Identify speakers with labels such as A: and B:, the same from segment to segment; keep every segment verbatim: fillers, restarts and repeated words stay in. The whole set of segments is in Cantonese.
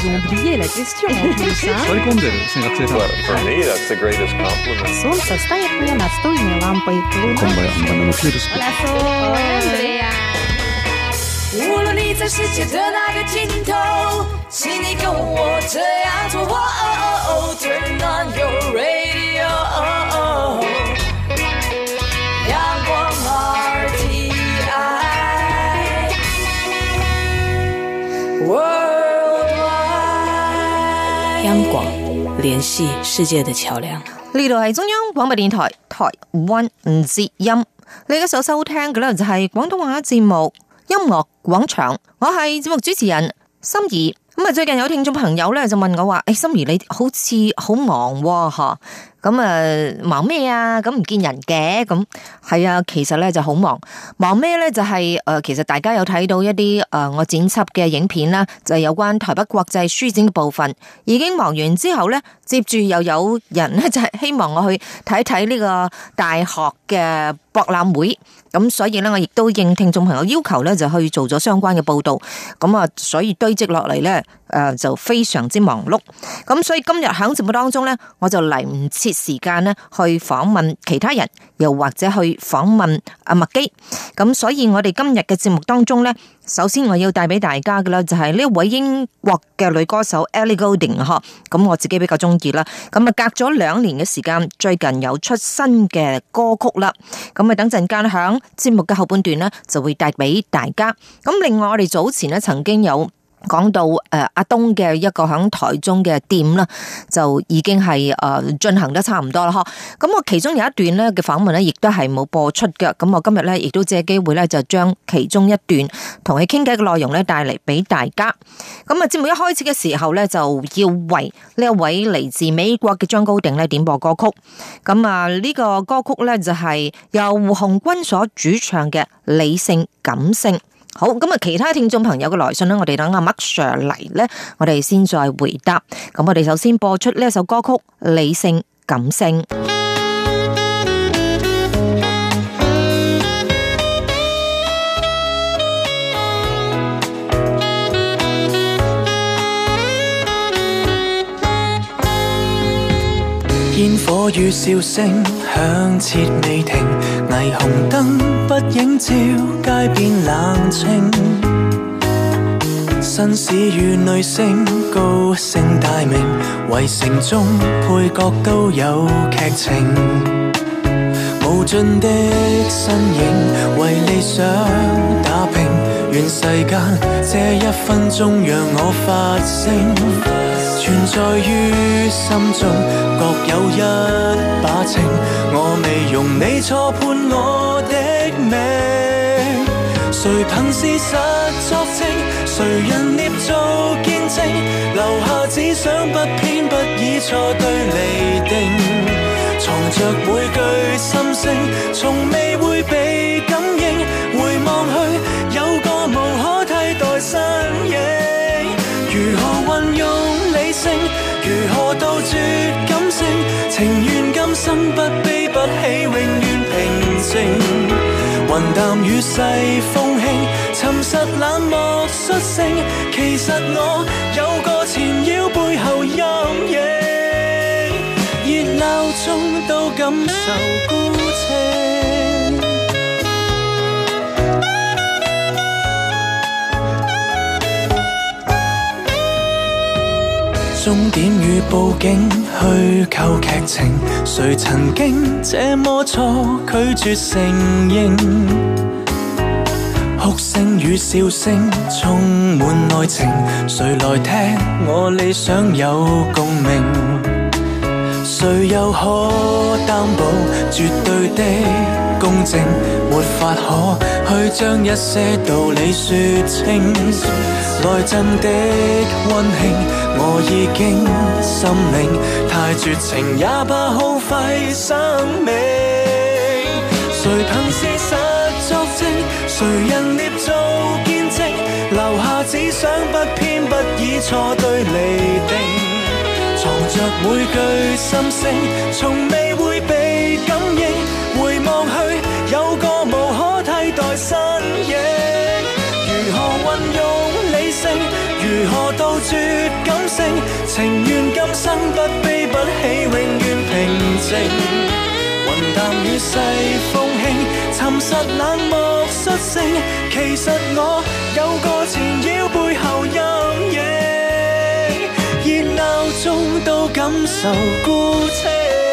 A: ont oublié la question en plus.
B: 割り込んでるですね、学生さん。
C: Well, for me, that's the greatest compliment.
A: Солнце стоит мне настольной лампой.
B: こんばんは、バナナのケイです。
A: Hola, Sol. Andrea.
D: 无论你在世界的哪个尽头，请你跟我这样做。Turn on your radio. 阳光 R T I Worldwide。
E: 央廣聯繫世界的橋梁。
F: 呢度係中央廣播電台台灣之音，你而家所收聽嘅咧就係廣東話節目音樂廣場，我係節目主持人心儀。咁啊，最近有聽眾朋友咧就問我話：，誒、哎，心儀你好似好忙喎，吓，咁啊忙咩啊？咁唔見人嘅，咁係啊，其實咧就好忙，忙咩咧？就係、是、誒、呃，其實大家有睇到一啲誒、呃，我剪輯嘅影片啦，就係有關台北國際書展嘅部分，已經忙完之後咧，接住又有人咧就係希望我去睇睇呢個大學嘅博覽會。咁所以咧，我亦都應聽眾朋友要求咧，就去做咗相關嘅報道。咁啊，所以堆積落嚟咧，誒就非常之忙碌。咁所以今日喺節目當中咧，我就嚟唔切時間咧去訪問其他人，又或者去訪問阿麥基。咁所以我哋今日嘅節目當中咧，首先我要帶俾大家嘅啦，就係呢位英國嘅女歌手 Ellie Goulding 嗬。咁我自己比較中意啦。咁啊，隔咗兩年嘅時間，最近有出新嘅歌曲啦。咁啊，等陣間響節目嘅後半段呢，就會帶俾大家。咁另外我哋早前呢曾經有講到誒阿東嘅一個響台中嘅店啦，就已經係誒進行得差唔多啦。嗬，咁我其中有一段咧嘅訪問咧，亦都係冇播出嘅。咁我今日咧亦都借機會咧，就將其中一段同佢傾偈嘅內容咧帶嚟俾大家。咁啊，節目一開始嘅時候咧，就要為呢一位嚟自美國嘅張高定咧點播歌曲。咁啊，呢個歌曲咧就係由胡鴻鈞所主唱嘅《理性感性》。好，咁啊，其他聽眾朋友嘅來信呢，我哋等阿麥 Sir 嚟呢，我哋先再回答。咁我哋首先播出呢一首歌曲《理性感性》。
G: 煙火與笑聲響徹未停，霓虹燈不映照街邊冷清，紳士與女星高聲大名，圍城中配角都有劇情，無盡的身影為理想打拼，願世間這一分鐘讓我發聲，存在於心中各有一把情，我未容你錯判我的命，誰憑事實作證，誰人捏造見證，留下只想不偏不倚錯對釐定，藏着每句心聲，從未會被感應，回望去有個無可替代身影，如何運用理性，如何杜絕感性，情願今生不悲不喜，永遠平靜，雲淡雨細風輕，沉實冷漠率性，其實我有個纏繞背後陰影，熱鬧中都感受孤清。終點與報警虛構劇情，誰曾經這麼錯拒絕承認，哭聲與笑聲充滿愛情，誰來聽我理想有共鳴，誰又可擔保絕對的公正，沒法可去將一些道理說清，來真的溫馨我已經心領，太絕情也怕耗費生命，誰憑事實作證，誰人捏造見證，留下只想不偏不倚錯對釐定，藏着每句心聲，從未會被感應，回望去有個無可替代身影，如何運用理性，如何到絕感性，情願今生不悲不喜，永遠平靜。雲淡雨細風輕，沉實冷漠率性。其實我有個纏繞背後陰影，熱鬧中都感受孤清。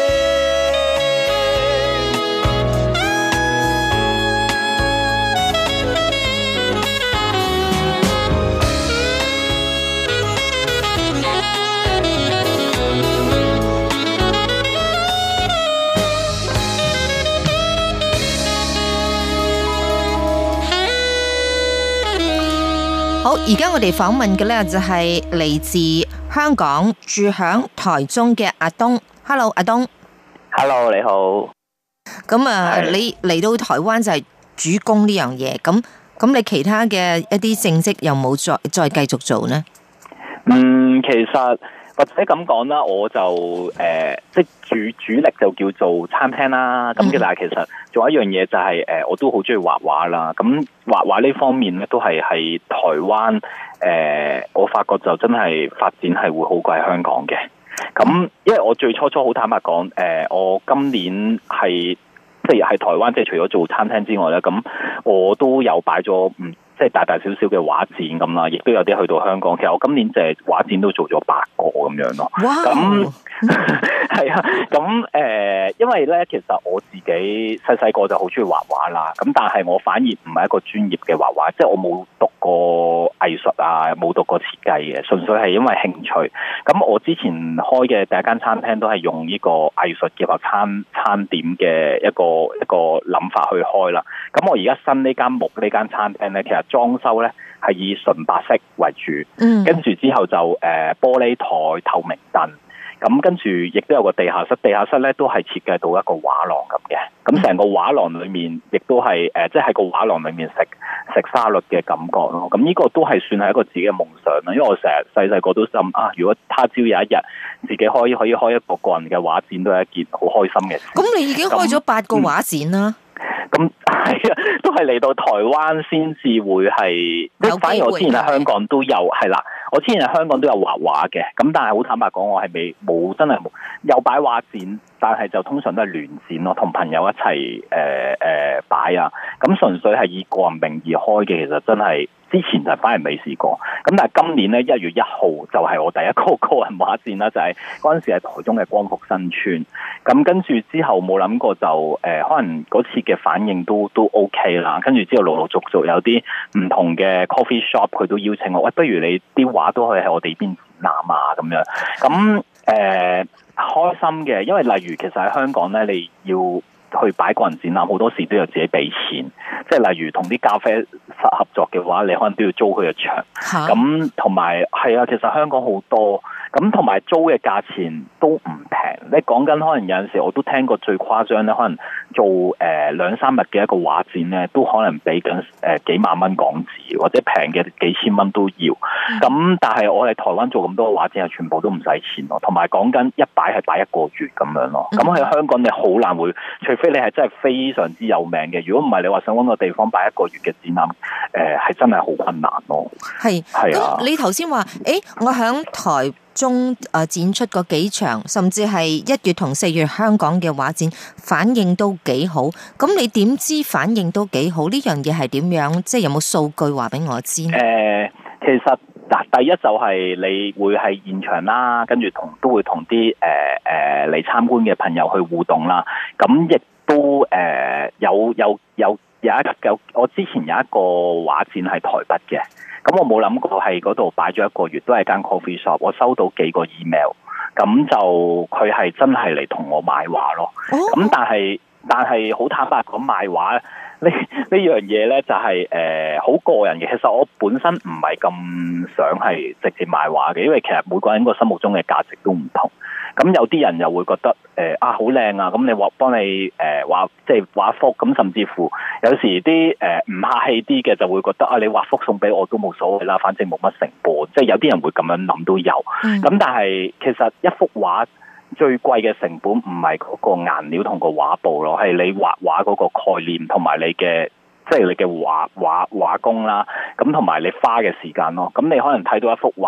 F: 好，而家我哋訪問嘅呢就係嚟自香港住響台中嘅阿東。Hello， 阿東。
H: Hello， 你好。
F: 咁啊，你嚟到台灣就係主攻呢樣嘢，咁咁你其他嘅一啲正職有冇再再繼續做呢？
H: 嗯，其實或者咁講啦，我就誒、呃，即係主主力就叫做餐廳啦。咁嘅、嗯，但係其實仲有一樣嘢就係、是、誒、呃，我都好中意畫畫啦。咁畫畫呢方面咧，都係喺台灣誒、呃，我發覺就真係發展係會好過喺香港嘅。咁因為我最初初好坦白講，誒、呃，我今年係即係喺台灣，即係除咗做餐廳之外咧，咁我都有擺咗唔。即係大大小小嘅畫展咁啦，亦都有啲去到香港。其實我今年就係畫展都做咗八個咁樣咯。哇！咁係啊，咁誒、呃，因為咧，其實我自己細細個就好中意畫畫啦。咁但係我反而唔係一個專業嘅畫畫，即係我冇讀過藝術啊，冇讀過設計嘅，純粹係因為興趣。咁我之前開嘅第一間餐廳都係用呢個藝術結合餐餐點嘅一個一個諗法去開啦。咁我而家新呢間木呢間餐廳咧，其實裝修咧係以純白色為主，嗯、跟住之後就誒、呃、玻璃台、透明燈，咁跟住亦都有個地下室，地下室咧都係設計到一個畫廊咁嘅，咁成個畫廊裏面亦都係誒，即係喺個畫廊裏面食食沙律嘅感覺咯。咁呢個都係算係一個自己嘅夢想啦，因為我成日細細個都心啊，如果他朝有一日自己可以可以開一個個人嘅畫展，都係一件好開心嘅事。
F: 咁你已經開咗八個畫展啦。
H: 咁係啊，都係嚟到台灣先至會係，即係反而我之前喺香港都有係啦，我之前喺香港都有畫畫嘅，咁但係好坦白講，我係未冇真係冇有擺畫展，但係就通常都係聯展咯，同朋友一齊誒誒擺啊，咁純粹係以個人名義開嘅，其實真係之前就反而未試過，咁但係今年咧一月一號就係我第一個個人畫展啦，就係嗰陣時喺台中嘅光復新村，咁跟住之後冇諗過就誒、呃，可能嗰次嘅反應都都 OK 啦，跟住之後陸陸續續有啲唔同嘅 coffee shop 佢都邀請我，喂，不如你啲畫都可以喺我哋邊展覽啊咁樣，咁誒、呃、開心嘅，因為例如其實喺香港咧，你要去擺個人展覽，好多時都要自己俾錢，即係例如同啲咖啡室合作嘅話，你可能都要租佢嘅場，咁同埋係啊，其實香港好多，咁同埋租嘅價錢都唔平。你講緊可能有陣時我都聽過最誇張咧，可能做誒兩三日嘅一個畫展咧，都可能俾緊誒幾萬蚊港紙，或者平嘅幾千蚊都要。咁、嗯、但係我喺台灣做咁多畫展，係全部都唔使錢咯，同埋講緊一擺係擺一個月咁樣咯。咁喺、嗯、香港你好難會，除非你係真係非常之有名嘅，如果唔係你話想搵個地方擺一個月嘅展覽，誒、呃、係真係好困難咯。係係啊，
F: 你頭先話誒，我響台中誒展出嗰幾場，甚至係一月同四月香港嘅畫展，反應都幾好。咁你點知反應都幾好？呢樣嘢係點樣？即係有冇數據話俾我知？誒、
H: 呃，其實嗱，第一就係你會係現場啦，跟住同都會同啲誒誒嚟參觀嘅朋友去互動啦。咁亦都誒、呃、有有有有一有我之前有一個畫展係台北嘅。咁我冇諗過喺嗰度擺咗一個月，都係間 coffee shop。我收到幾個 email，咁就佢係真係嚟同我買畫咯。咁、oh. 但係但係好坦白講，賣畫呢呢樣嘢咧就係誒好個人嘅。其實我本身唔係咁想係直接賣畫嘅，因為其實每個人個心目中嘅價值都唔同。咁有啲人又會覺得誒、呃、啊好靚啊，咁你畫幫你誒畫即係畫幅，咁甚至乎有時啲誒唔客氣啲嘅就會覺得啊，你畫幅送俾我都冇所謂啦，反正冇乜成本，即係有啲人會咁樣諗都有。咁、嗯、但係其實一幅畫最貴嘅成本唔係嗰個顏料同個畫布咯，係你畫畫嗰個概念同埋你嘅即係你嘅畫畫畫工啦，咁同埋你花嘅時間咯。咁你可能睇到一幅畫。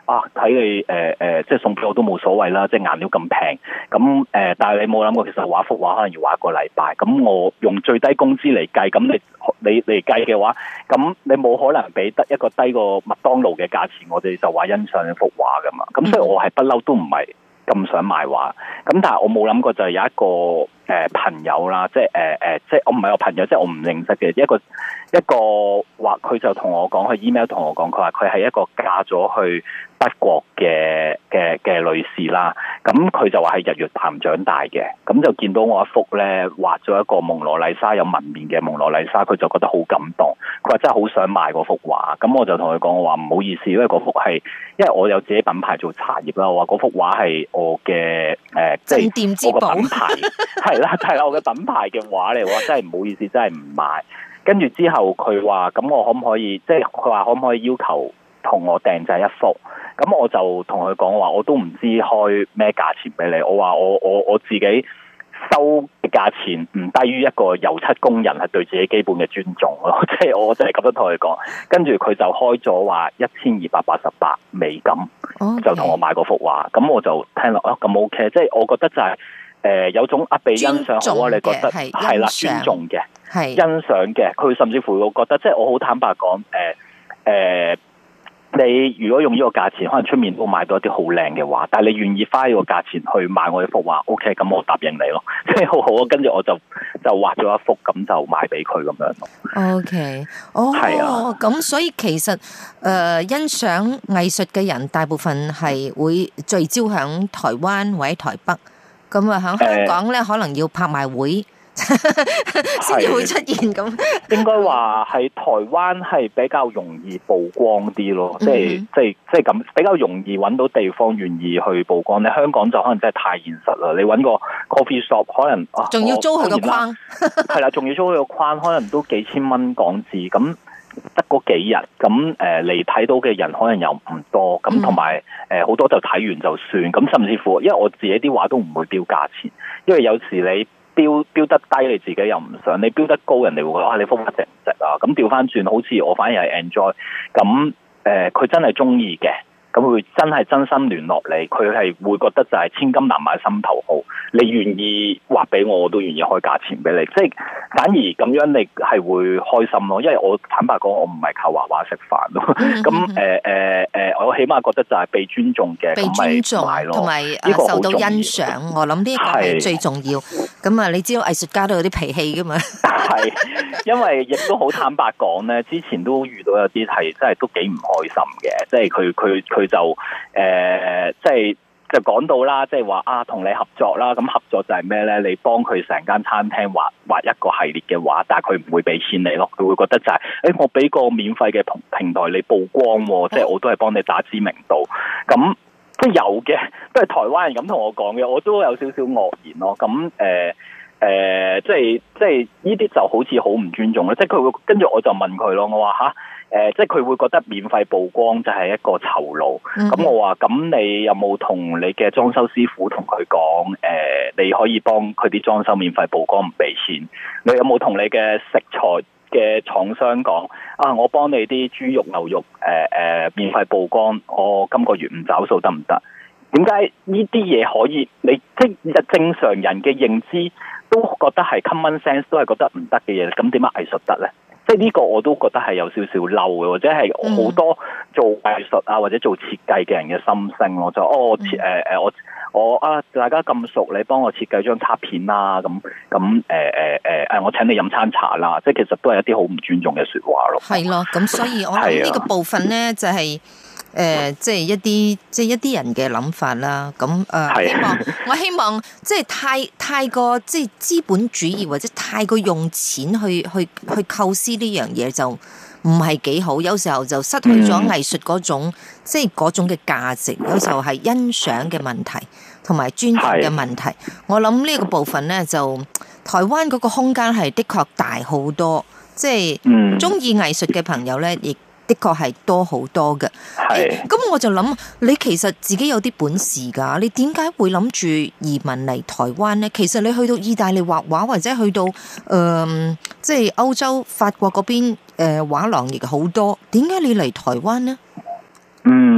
H: 啊，睇你誒誒、呃呃，即係送俾我都冇所謂啦，即係顏料咁平，咁誒、呃，但係你冇諗過其實畫幅畫可能要畫一個禮拜，咁我用最低工資嚟計，咁你你嚟計嘅話，咁你冇可能俾得一個低過麥當勞嘅價錢，我哋就話欣賞一幅畫噶嘛，咁所以我係不嬲都唔係咁想賣畫，咁但係我冇諗過就係有一個誒、呃、朋友啦，即係誒誒，即係我唔係我朋友，即係我唔認識嘅一個一個話，佢就同我講，佢 email 同我講，佢話佢係一個嫁咗去德國嘅嘅嘅女士啦，咁佢就話係日月潭長大嘅，咁就見到我一幅咧畫咗一個蒙羅麗莎有紋面嘅蒙羅麗莎，佢就覺得好感動，佢話真係好想買嗰幅畫，咁我就同佢講，我話唔好意思，因為嗰幅係因為我有自己品牌做茶葉啦，我話嗰幅畫係我嘅誒，即係我個品牌係啦係啦，我嘅品牌嘅畫嚟，我真係唔好意思，真係唔買。跟住之後佢話咁我可唔可以，即係佢話可唔可以要求同我訂製一幅？咁我就同佢講話，我都唔知開咩價錢俾你。我話我我我自己收嘅價錢唔低於一個油漆工人係對自己基本嘅尊重咯。即係我就係咁樣同佢講。跟住佢就開咗話一千二百八十八美金，okay. 就同我買嗰幅畫。咁我就聽落啊，咁 OK。即係我覺得就係、是、誒、呃、有種啊被欣賞好啊，你覺得係啦，尊重嘅。係欣賞嘅，佢甚至乎我覺得，即係我好坦白講，誒、呃、誒、呃，你如果用呢個價錢，可能出面都買到一啲好靚嘅畫，但係你願意花呢個價錢去買我一幅畫 ，OK，咁我答應你咯，即係好好啊。跟住我就就畫咗一幅，咁就賣俾佢咁樣咯。OK， 哦，係啊，
F: 咁所以其實誒、呃、欣賞藝術嘅人，大部分係會聚焦響台灣或者台北，咁啊響香港咧、呃，可能要拍賣會。先至會出現咁，
H: 應該話係台灣係比較容易曝光啲咯，即係即係即係咁比較容易揾到地方願意去曝光。你香港就可能真係太現實啦，你揾個 coffee shop 可能
F: 仲要租佢個框，
H: 係啦，仲要租佢個框，可能都幾千蚊港紙，咁得嗰幾日，咁誒嚟睇到嘅人可能又唔多，咁同埋誒好多就睇完就算，咁甚至乎，因為我自己啲畫都唔會標價錢，因為有時你。標標得低你自己又唔想，你標得高人哋會覺得啊你幅畫值唔值啊？咁調翻轉，好似我反而係 enjoy，咁誒佢真係中意嘅，咁佢真係真心聯絡你，佢係會覺得就係千金難買心頭好，你願意畫俾我，我都願意開價錢俾你，即係反而咁樣你係會開心咯，因為我坦白講，我唔係靠畫畫食飯咯，咁誒誒誒，我起碼覺得就係被尊重嘅，
F: 被尊重同埋誒受到欣賞，我諗呢個係最重要。咁啊，你知道藝術家都有啲脾氣噶嘛？
H: 係，因為亦都好坦白講咧，之前都遇到有啲係真係都幾唔開心嘅，即係佢佢佢就誒、呃，即係就講到啦，即係話啊，同你合作啦，咁合作就係咩咧？你幫佢成間餐廳畫畫一個系列嘅畫，但係佢唔會俾錢你咯，佢會覺得就係、是，誒、欸，我俾個免費嘅平台你曝光，即係我都係幫你打知名度，咁。即係有嘅，都係台灣人咁同我講嘅，我都有少少愕然咯。咁誒誒，即係即係呢啲就好似好唔尊重咯。即係佢會跟住我就問佢咯，我話吓誒，即係佢會覺得免費曝光就係一個酬勞。咁、嗯、我話咁你有冇同你嘅裝修師傅同佢講誒，你可以幫佢啲裝修免費曝光唔俾錢？你有冇同你嘅食材嘅廠商講啊，我幫你啲豬肉牛肉誒誒、呃、免費曝光，我今個月唔找數得唔得？點解呢啲嘢可以？你即係正常人嘅認知都覺得係 common sense， 都係覺得唔得嘅嘢，咁點解藝術得咧？即係呢個我都覺得係有少少嬲嘅，或者係好多做藝術啊或者做設計嘅人嘅心聲咯。就哦設誒誒我我啊大家咁熟，你幫我設計張卡片啦，咁咁誒誒誒誒我請你飲餐茶啦，即係其實都係一啲好唔尊重嘅說話咯。
F: 係咯，咁所以我諗呢個部分咧就係、是。誒、呃，即係一啲，即係一啲人嘅諗法啦。咁誒、呃，希望我希望，即係太太過，即係資本主義或者太過用錢去去去構思呢樣嘢，就唔係幾好。有時候就失去咗藝術嗰種，嗯、即係嗰種嘅價值。有時候係欣賞嘅問題，同埋尊重嘅問題。我諗呢個部分咧，就台灣嗰個空間係的確大好多。即係中意藝術嘅朋友咧，亦。的確係多好多嘅，咁、欸、我就諗，你其實自己有啲本事噶，你點解會諗住移民嚟台灣呢？其實你去到意大利畫畫，或者去到誒、呃，即係歐洲法國嗰邊誒畫廊亦好多，點解你嚟台灣呢？
H: 嗯，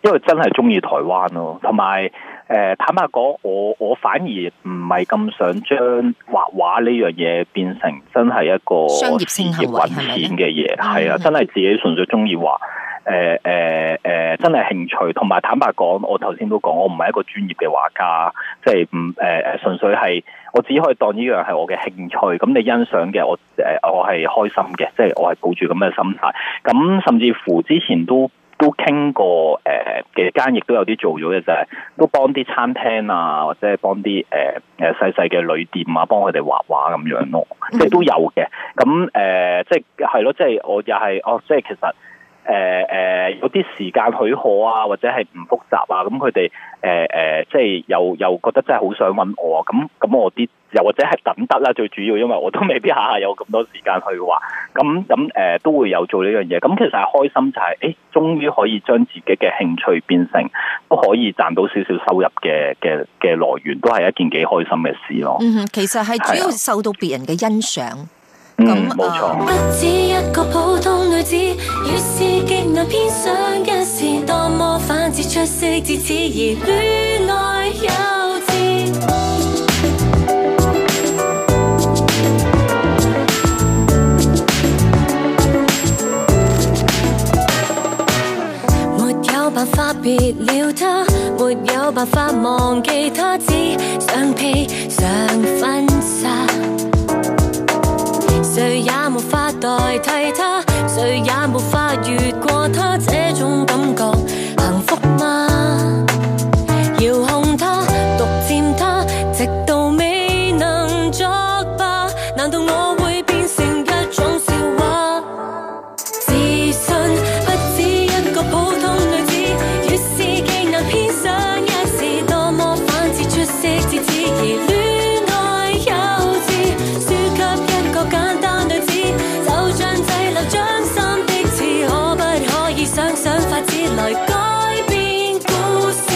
H: 因為真係中意台灣咯，同埋誒坦白講，我我反而唔係咁想將畫畫呢樣嘢變成真係一個
F: 商業性行為
H: 揾錢嘅嘢，係啊，真係自己純粹中意畫。誒誒誒，真係興趣，同埋坦白講，我頭先都講，我唔係一個專業嘅畫家，即係唔誒誒，純粹係我只可以當呢樣係我嘅興趣。咁你欣賞嘅，我誒、呃、我係開心嘅，即係我係抱住咁嘅心態。咁甚至乎之前都都傾過誒嘅間，亦都有啲做咗嘅，就係都幫啲餐廳啊，或者係幫啲誒誒細細嘅旅店啊，幫佢哋畫畫咁樣咯，即係都有嘅。咁誒、呃，即係係咯，即係我又係哦，即係其實。誒誒、呃、有啲時間許可啊，或者係唔複雜啊，咁佢哋誒誒即係又又覺得真係好想揾我啊，咁咁我啲又或者係等得啦，最主要因為我都未必下下有咁多時間去畫，咁咁誒都會有做呢樣嘢，咁其實係開心就係、是，誒終於可以將自己嘅興趣變成都可以賺到少少收入嘅嘅嘅來源，都係一件幾開心嘅事咯。
F: 嗯，其實係主要受到別人嘅欣賞。
H: 嗯，冇錯。
D: 不止一個普通女子，越是極難偏上一時，多麼反智出色，自此而戀愛幼稚。沒有辦法別了他，沒有辦法忘記他，只想披上婚紗。誰也無法代替他，誰也無法越過他，這種感覺幸福嗎？遙控他，獨佔他，直到未能作罷。難道我會變成一種笑話？自信不止一個普通女子，越是極難偏上一時，多麼反智出色，自此而戀愛幼稚，輸給一個簡單。想想法子來改變故事，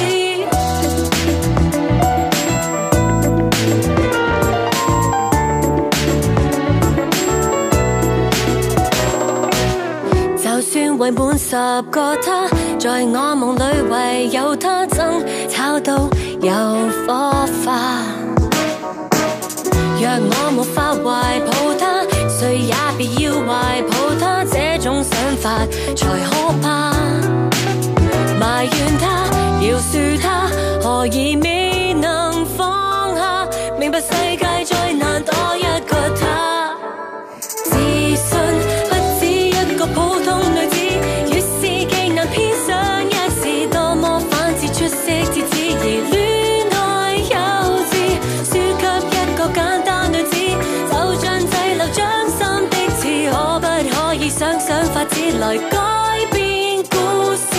D: 就算圍滿十個他，在我夢裏唯有他，爭吵到有火花。若我無法懷抱他，誰也別要懷抱他，這種想法才可怕。埋怨他，饒恕他，何以未能放下？明白世界再難多一個他。自信不止一個普通女子，越是極難偏上一時，多麼反智出色，自此而戀愛幼稚，輸給一個簡單女子，就像滯留掌心的刺，可不可以想想法子來改變故事？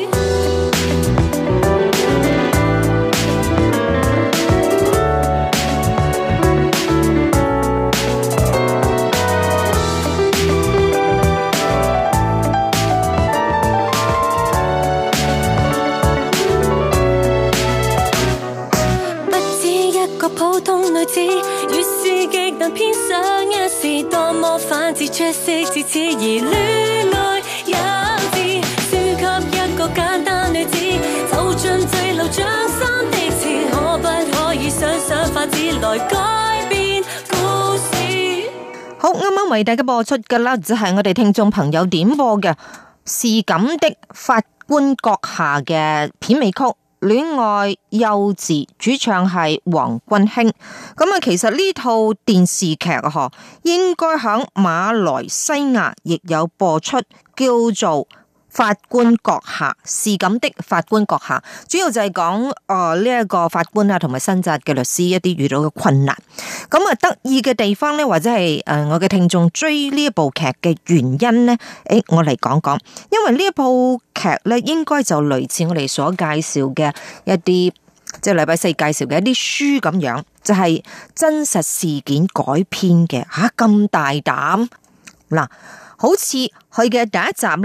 D: 普通女子，越是極難偏上一時，多麼反智出色，自此而戀愛幼稚，輸給一個簡單女子，就像滯留掌心的刺，可不可以想想法子來改變故事？
F: 好，啱啱為大家播出嘅啦，就係我哋聽眾朋友點播嘅《是咁的法官閣下》嘅片尾曲。戀愛幼稚，主唱係黃君興。咁啊，其實呢套電視劇啊，嗬，應該響馬來西亞亦有播出，叫做法官閣下，是咁的法官閣下，主要就係講誒呢一個法官啊，同埋新紮嘅律師一啲遇到嘅困難。咁啊，得意嘅地方咧，或者係誒我嘅聽眾追呢一部劇嘅原因咧，誒我嚟講講，因為呢一部劇咧，應該就類似我哋所介紹嘅一啲，即係禮拜四介紹嘅一啲書咁樣，就係、是、真實事件改編嘅吓，咁大膽嗱，好似佢嘅第一集咧。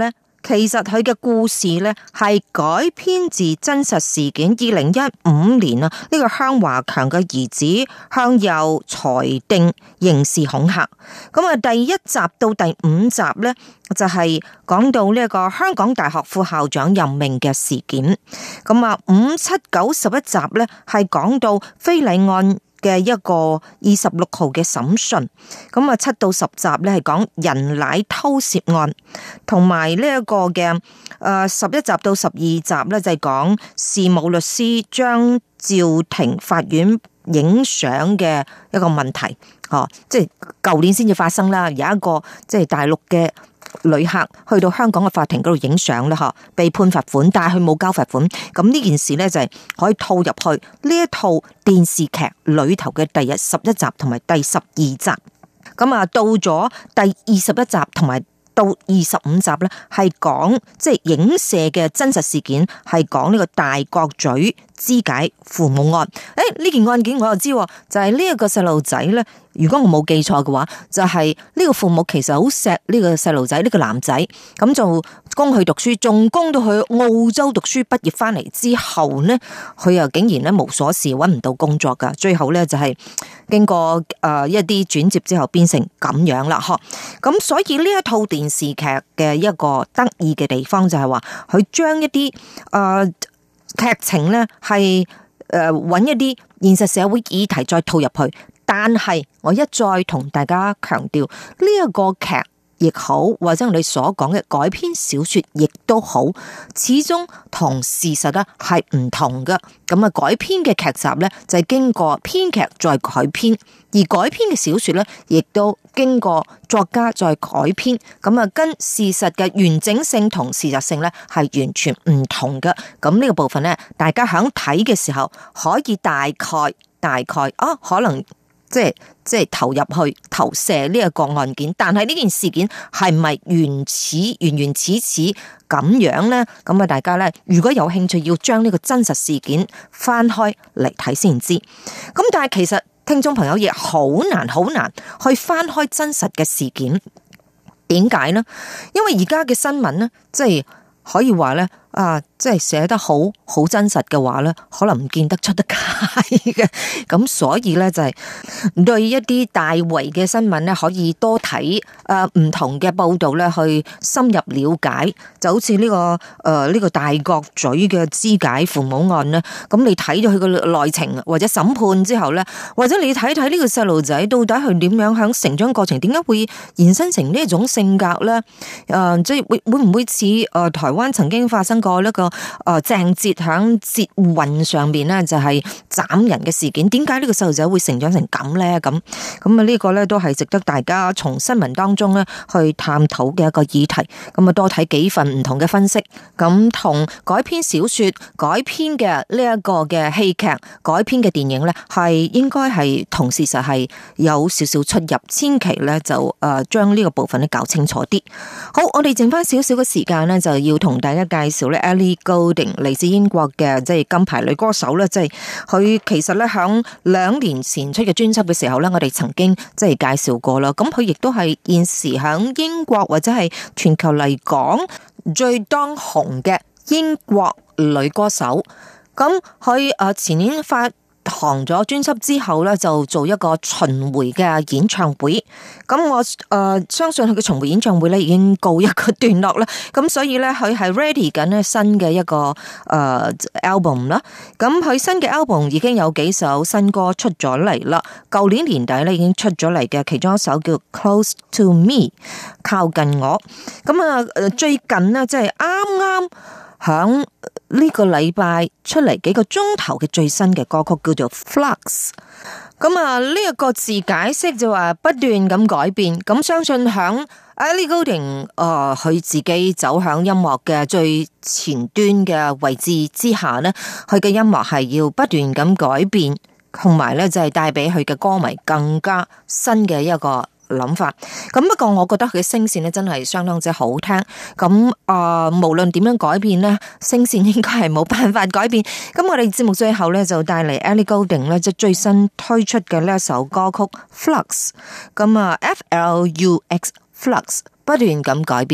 F: 其實佢嘅故事咧係改編自真實事件。二零一五年啊，呢個向華強嘅兒子向右裁定刑事恐嚇。咁啊，第一集到第五集咧就係講到呢一個香港大學副校長任命嘅事件。咁啊，五七九十一集咧係講到非禮案嘅一個二十六號嘅審訊。咁啊，七到十集咧係講人奶偷竊案，同埋呢一個嘅誒十一集到十二集咧就係講事務律師將趙庭法院影相嘅一個問題。哦，即係舊年先至發生啦，有一個即係大陸嘅旅客去到香港嘅法庭嗰度影相啦，嗬，被判罰款，但係佢冇交罰款。咁呢件事咧就係可以套入去呢一套電視劇裏頭嘅第十一集同埋第十二集。咁啊，到咗第二十一集同埋到二十五集咧，係講即係影射嘅真實事件，係講呢個大角咀肢解父母案。誒，呢件案件我又知，就係呢一個細路仔咧。如果我冇記錯嘅話，就係、是、呢個父母其實好錫呢個細路仔，呢、這個男仔，咁就供佢讀書，仲供到去澳洲讀書，畢業翻嚟之後呢，佢又竟然咧無所事，搵唔到工作噶，最後咧就係經過誒一啲轉接之後，變成咁樣啦，嗬。咁所以呢一套電視劇嘅一個得意嘅地方就係話，佢將一啲誒劇情咧係誒搵一啲現實社會議題再套入去。但係我一再同大家強調，呢一個劇亦好，或者我哋所講嘅改編小說亦都好，始終同事實咧係唔同嘅。咁啊，改編嘅劇集咧就係經過編劇再改編，而改編嘅小說咧亦都經過作家再改編。咁啊，跟事實嘅完整性同事實性咧係完全唔同嘅。咁呢個部分咧，大家響睇嘅時候可以大概大概啊，可能。即係即係投入去投射呢一個案件，但係呢件事件係咪原始原原始始咁樣呢？咁啊，大家呢，如果有興趣要將呢個真實事件翻開嚟睇先知。咁但係其實聽眾朋友亦好難好難去翻開真實嘅事件，點解呢？因為而家嘅新聞呢，即係可以話呢。啊，即係寫得好好真實嘅話咧，可能唔見得出得街嘅，咁所以咧就係對一啲大圍嘅新聞咧，可以多睇誒唔同嘅報道咧，去深入了解。就好似呢、這個誒呢、呃這個大角咀嘅肢解父母案咧，咁你睇咗佢個內情或者審判之後咧，或者你睇睇呢個細路仔到底佢點樣響成長過程，點解會延伸成呢一種性格咧？誒、呃，即係會會唔會似誒台灣曾經發生過個呢個誒鄭捷響捷運上邊咧，就係斬人嘅事件，點解呢個細路仔會成長成咁咧？咁咁啊呢個咧都係值得大家從新聞當中咧去探討嘅一個議題。咁啊多睇幾份唔同嘅分析，咁同改編小說、改編嘅呢一個嘅戲劇、改編嘅電影咧，係應該係同事實係有少少出入，千祈咧就誒將呢個部分咧搞清楚啲。好，我哋剩翻少少嘅時間咧，就要同大家介紹咧 Ellie Goulding 嚟自英國嘅即係金牌女歌手咧，即係佢其實咧響兩年前出嘅專輯嘅時候咧，我哋曾經即係介紹過啦。咁佢亦都係現時響英國或者係全球嚟講最當紅嘅英國女歌手。咁佢誒前年發行咗專輯之後咧，就做一個巡迴嘅演唱會。咁我誒、呃、相信佢嘅巡迴演唱會咧已經告一個段落啦。咁所以咧佢係 ready 緊咧新嘅一個誒、呃、album 啦。咁佢新嘅 album 已經有幾首新歌出咗嚟啦。舊年年底咧已經出咗嚟嘅，其中一首叫 Close to Me 靠近我。咁啊誒最近呢，即係啱啱響呢個禮拜出嚟幾個鐘頭嘅最新嘅歌曲叫做 Flux。咁啊呢一個字解釋就話不斷咁改變。咁相信響 Ellie Goulding 誒佢自己走響音樂嘅最前端嘅位置之下呢，佢嘅音樂係要不斷咁改變，同埋咧就係帶俾佢嘅歌迷更加新嘅一個諗法。咁不過我覺得佢嘅聲線咧真係相當之好聽。咁啊、呃，無論點樣改變咧，聲線應該係冇辦法改變。咁我哋節目最後咧就帶嚟 Ellie Goulding 咧即係最新推出嘅呢一首歌曲 Flux。咁啊 F L U X Flux 不斷咁改變。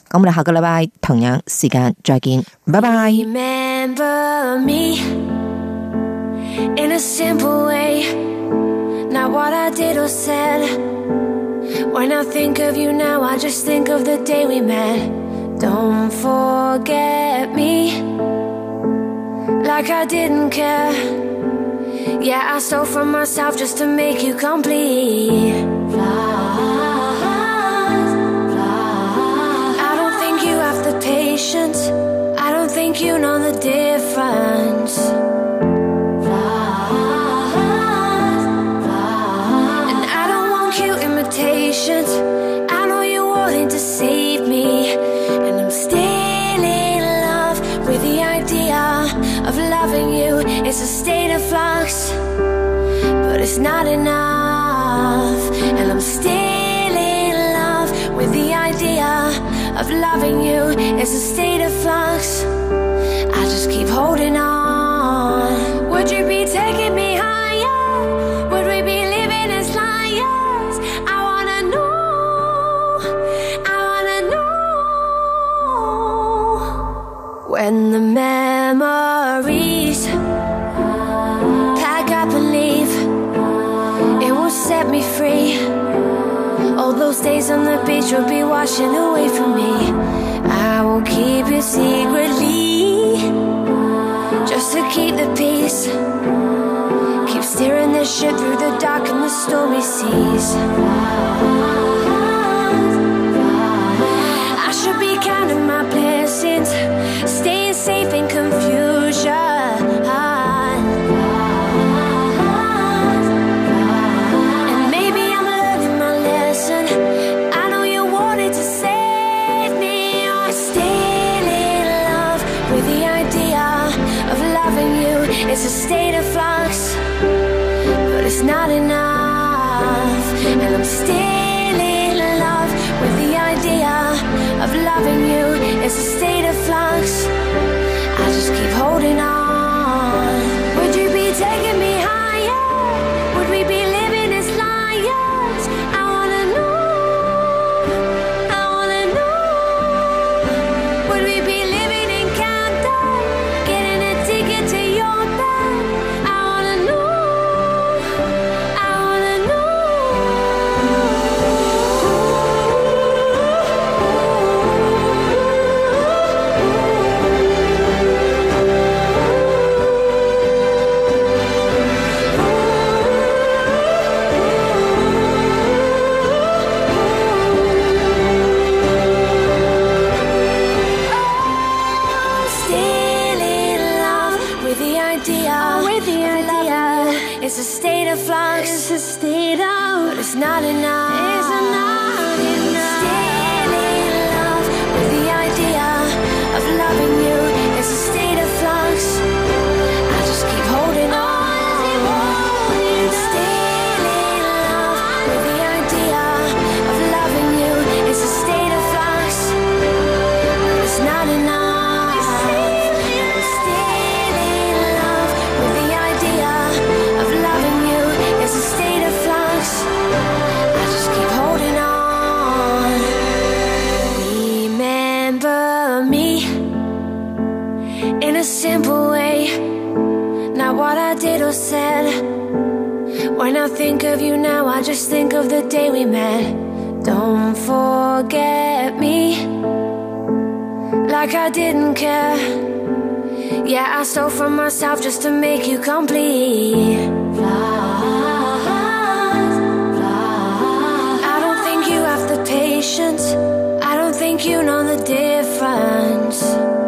F: 咁我哋下個禮拜同樣時間再見，拜拜。
D: Remember me in a simple way, not what I did or said. When I think of you now, I just think of the day we met. Don't forget me like I didn't care. Yeah, I stole from myself just to make you complete. Flies, flies. I don't think you have the patience, I don't think you know the difference. Flies, flies. And I don't want cute imitations, I know you're wanting to save me. And I'm still in love with the idea of loving you. It's a state of flux, but it's not enough. And I'm still in love with the idea of loving you. It's a state of flux, I just keep holding on. Would you be taking me higher? Would we be living as liars? I wanna know, I wanna know. When the memories pack up and leave, it will set me free. All those days on the beach will be washing away from me. I will keep you secretly, just to keep the peace. Keep steering the ship through the dark and the stormy seas. I should be counting my blessings, staying safe in confusion. And maybe I'm learning my lesson, I know you wanted to save me. I'm still in love with the idea of loving you. It's a state of flux, but it's not enough. And I'm still in love with the idea of loving you. It's a state of flux, I just keep holding on. Would you be taking me higher? Would we be living as liars? I wanna know, I wanna know. Would we be living in Camden, getting a ticket to your bed? I wanna know, I wanna know. Still in love with the idea, with the idea. It's a state of flux, it's a state of, but it's not enough. It's not enough. Still in love with the idea of loving you. It's a state of flux, I just keep holding on. Still in love with the idea of loving you. It's a state of flux, but it's not enough. A simple way, not what I did or said. When I think of you now, I just think of the day we met. Don't forget me like I didn't care. Yeah, I stole from myself just to make you complete. Flies, flies. I don't think you have the patience, I don't think you know the difference.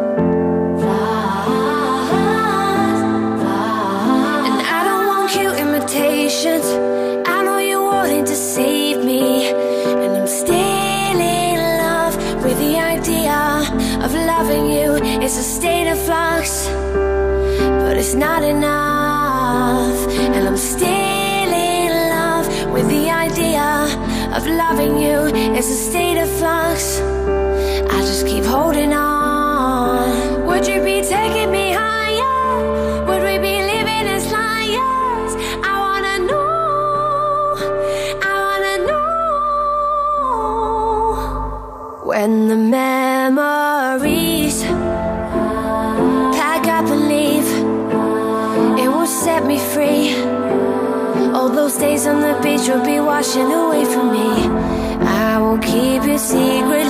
D: I know you're wanting to save me. And I'm still in love with the idea of loving you. It's a state of flux, but it's not enough. And I'm still in love with the idea of loving you. It's a state of flux, I just keep holding on. Would you be taking me higher? Would we be living as liars? I wanna know, I wanna know. When the memories. Pack up and leave. It will set me free. All those days on the beach will be washing away from me. I will keep it secretly.